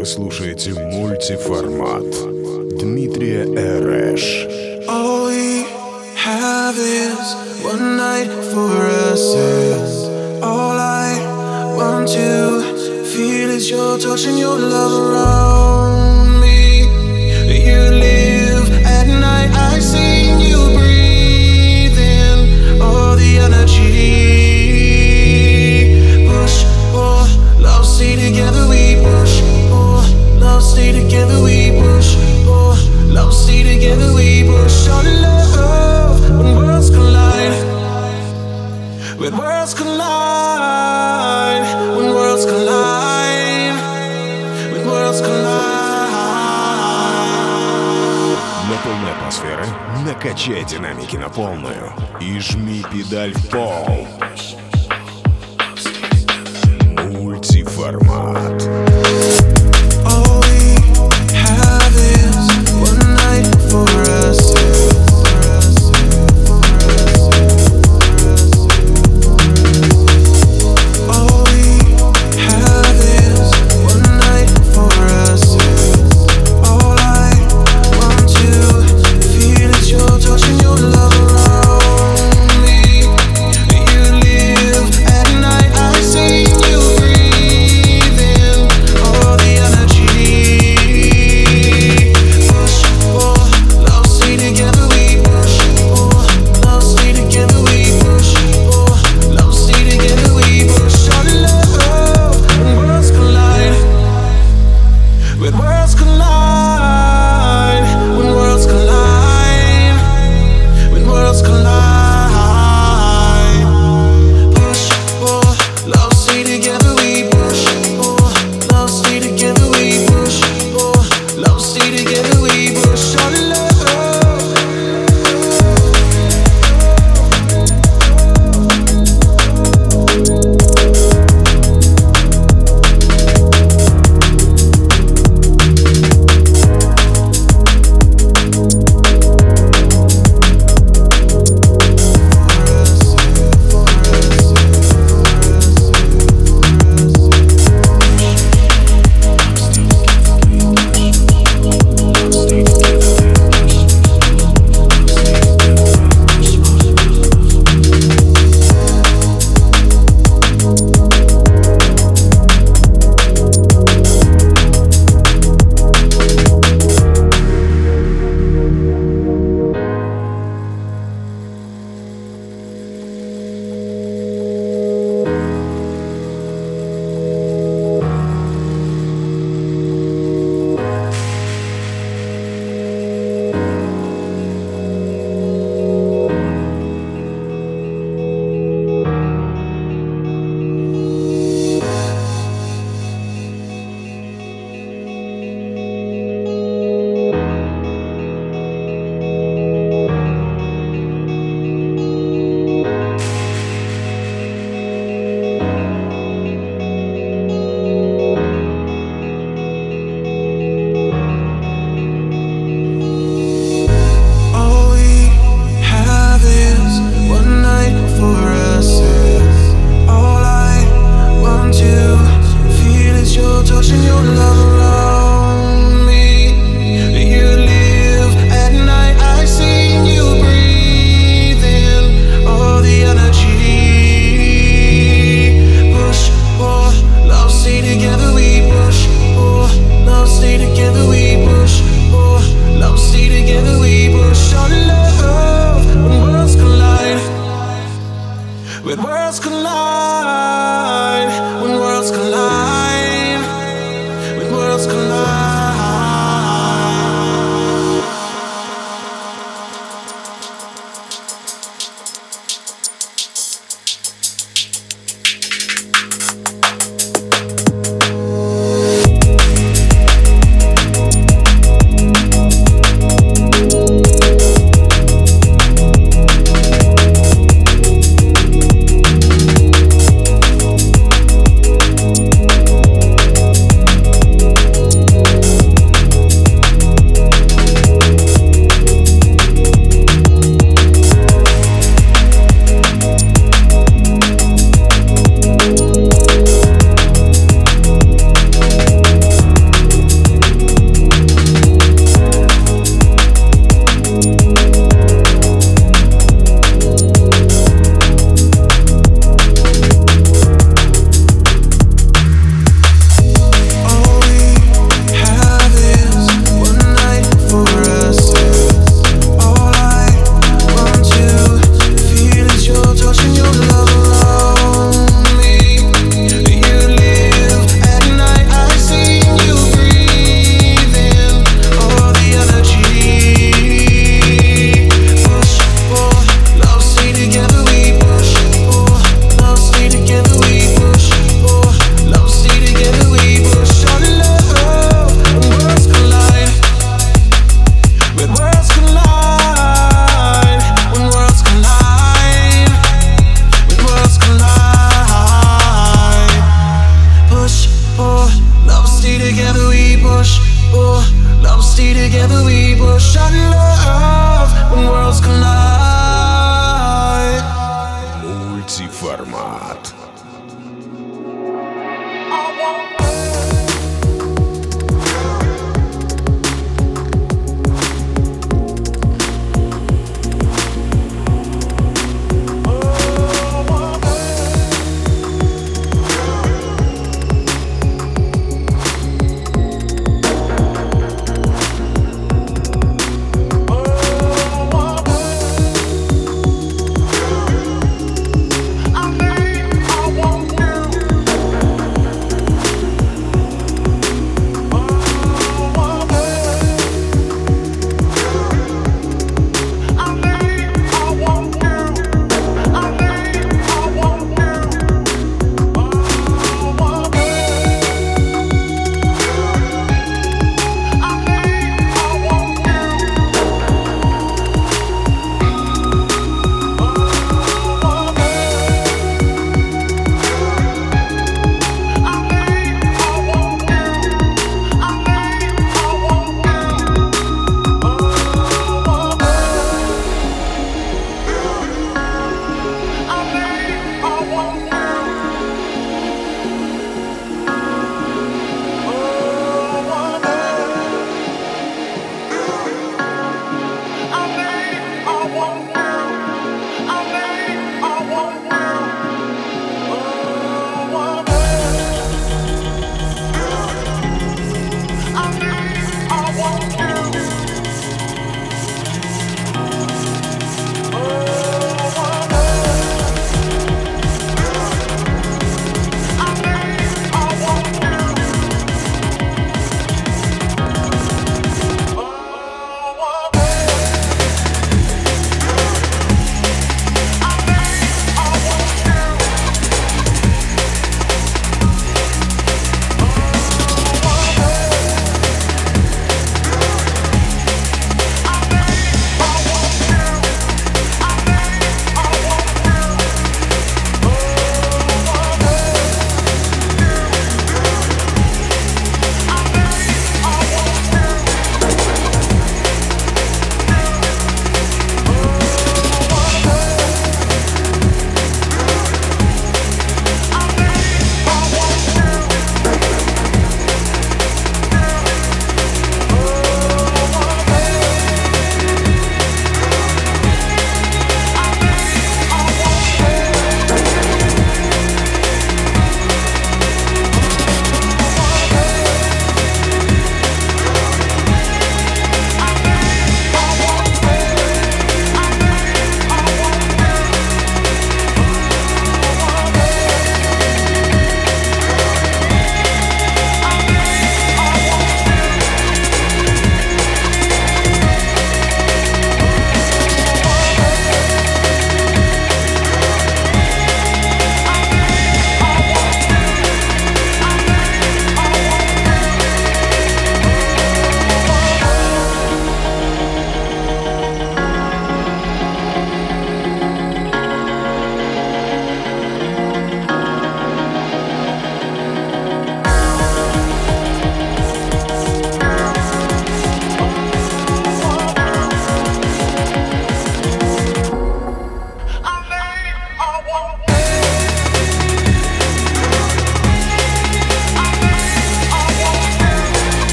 Вы слушаете мультиформат Дмитрия Эрэш. All we have is one night for us. All I want to feel is your touch and your love around me. You live at night, I see you breathing all the energy. Push, pull, love, stay together, we push, pull, love, stay together, we push, pull, love, stay together, we push on love. When worlds collide, when worlds collide, when worlds collide, when worlds collide. На полной атмосферы накачай динамики на полную и жми педаль в пол. Мультиформат. All we have is one night for us. All we have is one night for us. All I want to feel is your touch and your love around me. You live at night, I see you breathing all the energy. Push, pull, love, stay together, we push, pull, love, stay together, we push, pull, love, stay together, we push on love. When worlds collide, when worlds collide, when worlds collide, when worlds collide. Push, pull, love, stay together, we push, pull, love, stay together, we push, pull, love, stay together, we push on love. All we have is one night for us. All I want to feel is your touch and your love around me. You live at night, I see you breathing all the energy. Push, pull, love, stay together, we push, pull, love, stay together, we push, pull, love, stay together, we push on love. When worlds collide, when worlds collide, when worlds collide, when worlds collide.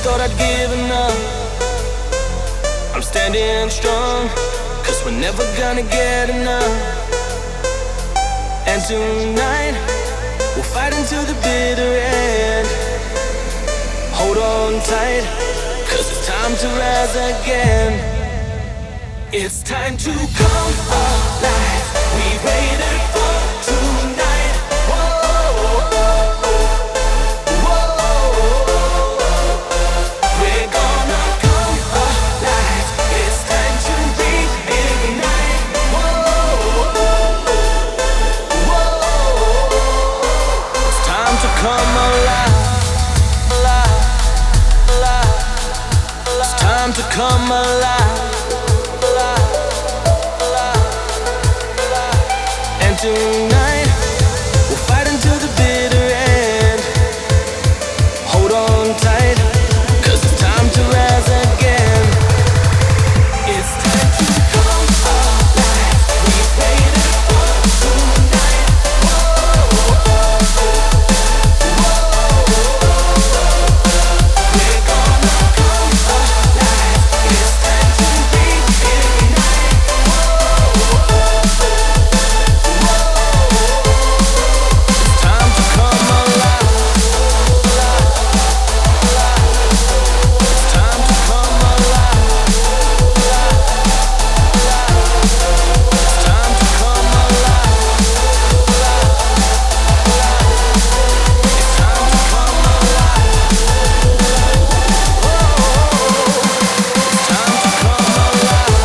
thought I'd given up, I'm standing strong, 'cause we're never gonna get enough. And tonight, we'll fight until the bitter end. Hold on tight, 'cause it's time to rise again. It's time to come alive. We waited for tonight. Whoa, whoa. We're gonna come alive. It's time to reignite. Whoa, whoa. It's time to come alive. It's time to come alive. And tonight, we'll fight until the bitter end. Hold on tight, 'cause it's time to rise again. It's time to come alive. We waited for tonight. Whoa, we're gonna come alive. It's time to reignite. It's time to come alive. It's time to come alive. It's time to come alive. It's time to come alive. It's time to come alive.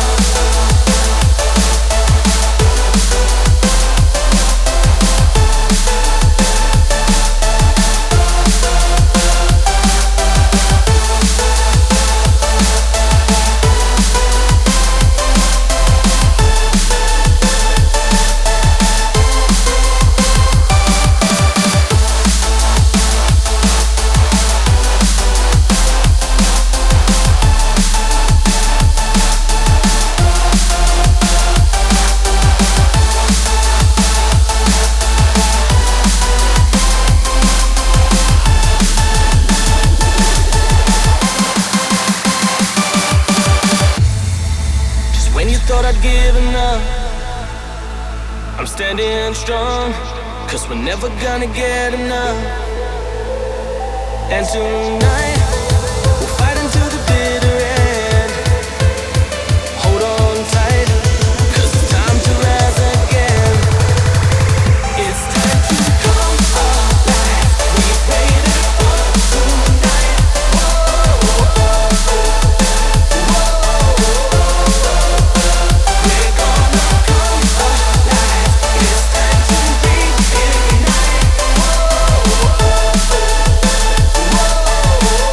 Just when you thought I'd given up, I'm standing strong, 'cause we're never gonna get enough. And tonight, we'll fight until the bitter end. Hold on tight, 'cause it's time to rise again. It's time to come alive. We waited for tonight. We're gonna come alive. It's time to reignite. Whoa,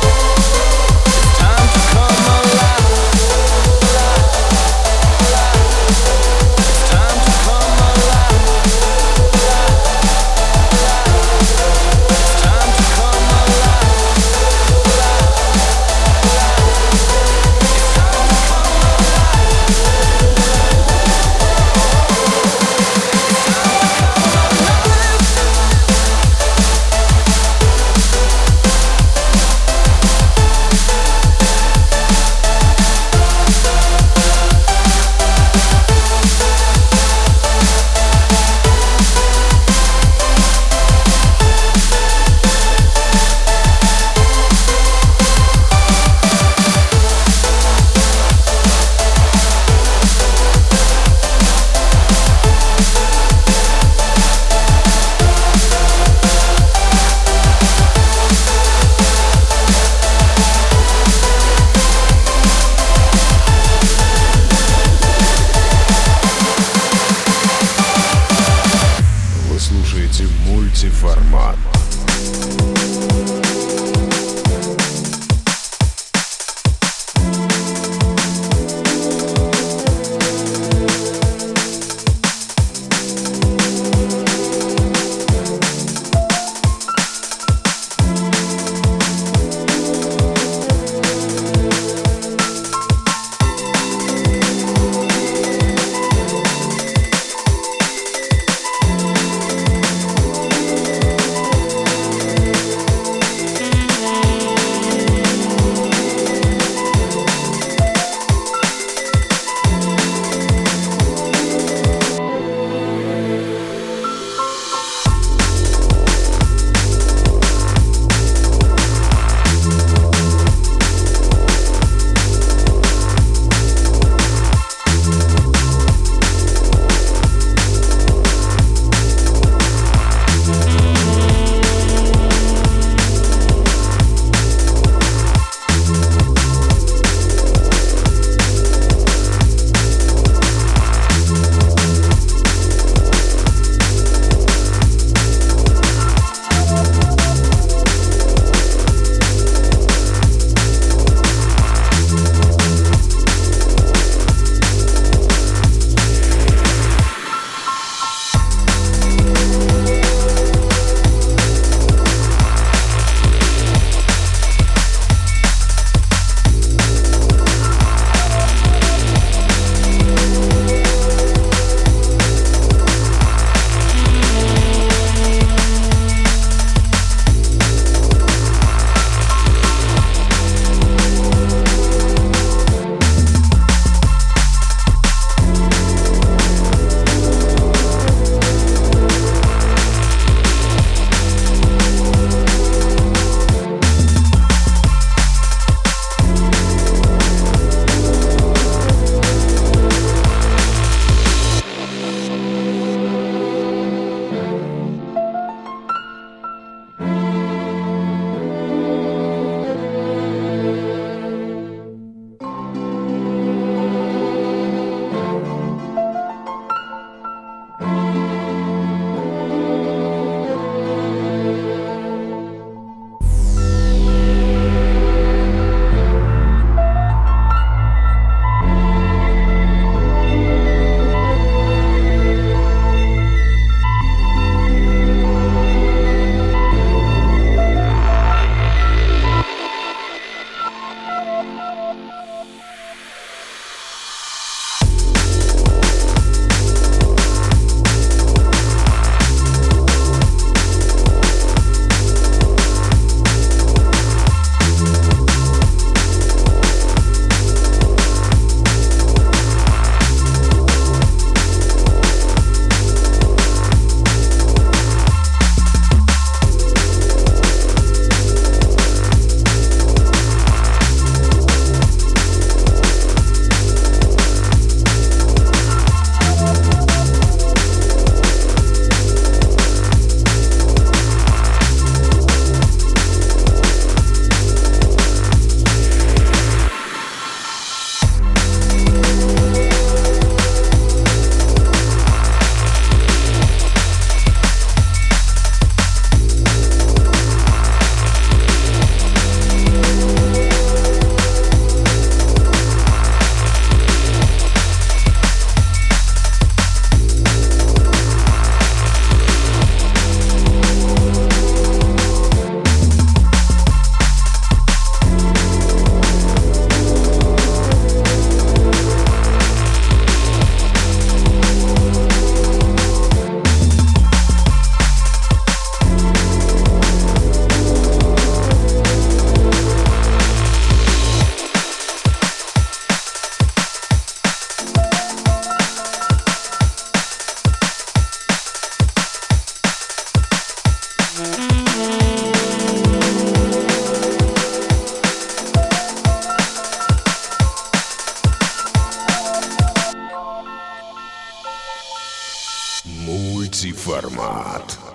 Мультиформат.